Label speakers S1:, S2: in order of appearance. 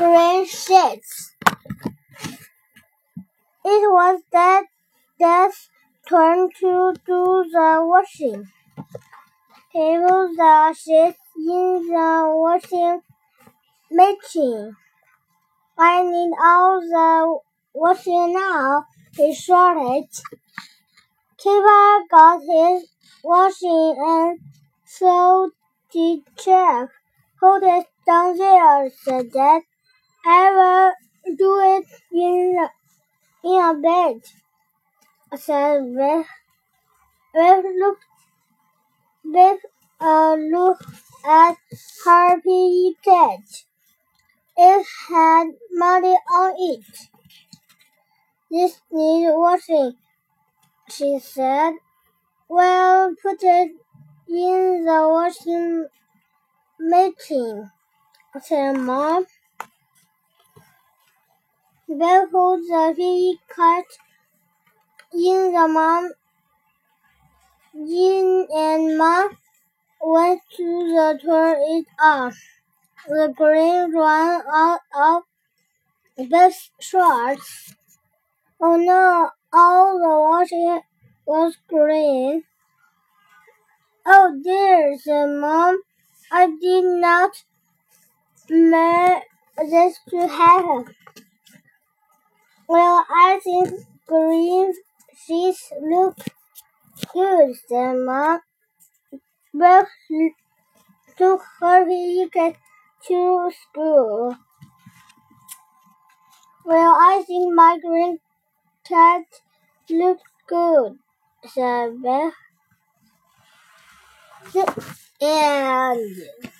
S1: green sheets. It was Dad's turn to do the washing. He put the sheets in the washing machine. I need all the washing now, he shouted. Keeper got his washing and so did Jack. Hold it down there, said Dad. I will do it in a bit, said Viv. Viv looked at her piggy cat. It had mud on it. This needs washing, she said. Well, put it in the washing machine, said Mom. They put the piggy cat in and Mom went to turn it on. The green ran out of Beth's shorts. Oh no, all the washing was green. Oh dear, said Mom. I did not mean this to happen. Well, I think green sheets look good, said Mom. Beth took her ticket to school. Well, I think my green cat looks good, said Beth. The end.